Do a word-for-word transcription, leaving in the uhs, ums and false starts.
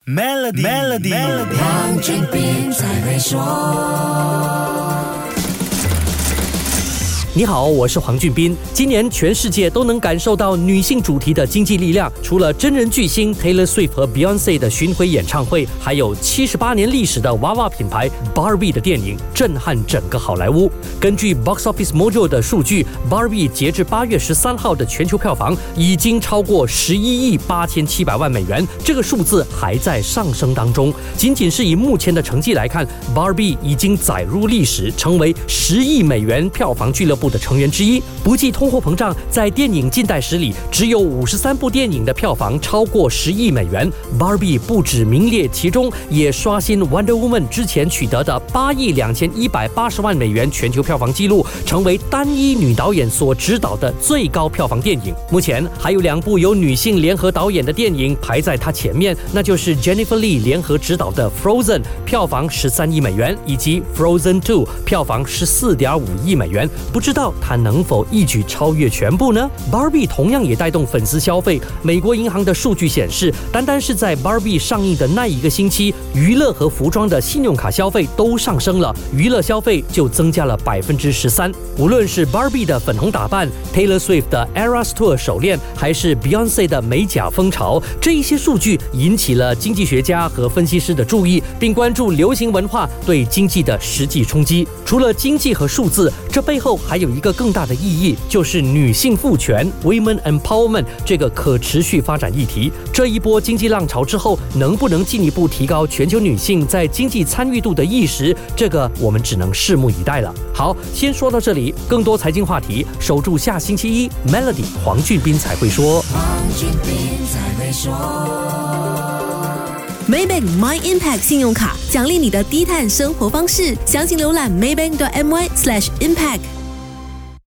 Melody， Melody， Melody， 黄俊斌才会说。 你好，我是黄俊斌。今年全世界都能感受到女性主题的经济力量，除了真人巨星 Taylor Swift 和 Beyonce 的巡回演唱会，还有七十八年历史的娃娃品牌 Barbie 的电影震撼整个好莱坞。根据 Box Office Mojo 的数据， Barbie 截至八月十三号的全球票房已经超过十一亿八千七百万美元，这个数字还在上升当中。仅仅是以目前的成绩来看， Barbie 已经载入历史，成为十亿美元票房俱乐部的成员之一。不计通货膨胀，在电影近代史里，只有五十三部电影的票房超过十亿美元。Barbie 不止名列其中，也刷新 Wonder Woman 之前取得的八亿两千一百八十万美元全球票房纪录，成为单一女导演所执导的最高票房电影。目前还有两部由女性联合导演的电影排在她前面，那就是 Jennifer Lee 联合执导的 Frozen， 票房十三亿美元，以及 Frozen 二，票房十四点五亿美元。不知道它能否一举超越全部呢？ Barbie 同样也带动粉丝消费。美国银行的数据显示，单单是在 Barbie 上映的那一个星期，娱乐和服装的信用卡消费都上升了，娱乐消费就增加了百分之十三。无论是 Barbie 的粉红打扮， Taylor Swift 的 Eras Tour 手链，还是 Beyonce 的美甲风潮，这一些数据引起了经济学家和分析师的注意，并关注流行文化对经济的实际冲击。除了经济和数字，这背后还有一个更大的意义，就是女性赋权 Women Empowerment 这个可持续发展议题。这一波经济浪潮之后，能不能进一步提高全球女性在经济参与度的意识，这个我们只能拭目以待了。好，先说到这里，更多财经话题守住下星期一 Melody 黄俊斌才会说。 黄俊斌才会说。 Maybank My Impact 信用卡奖励你的低碳生活方式，详情浏览 maybank dot my slash impact。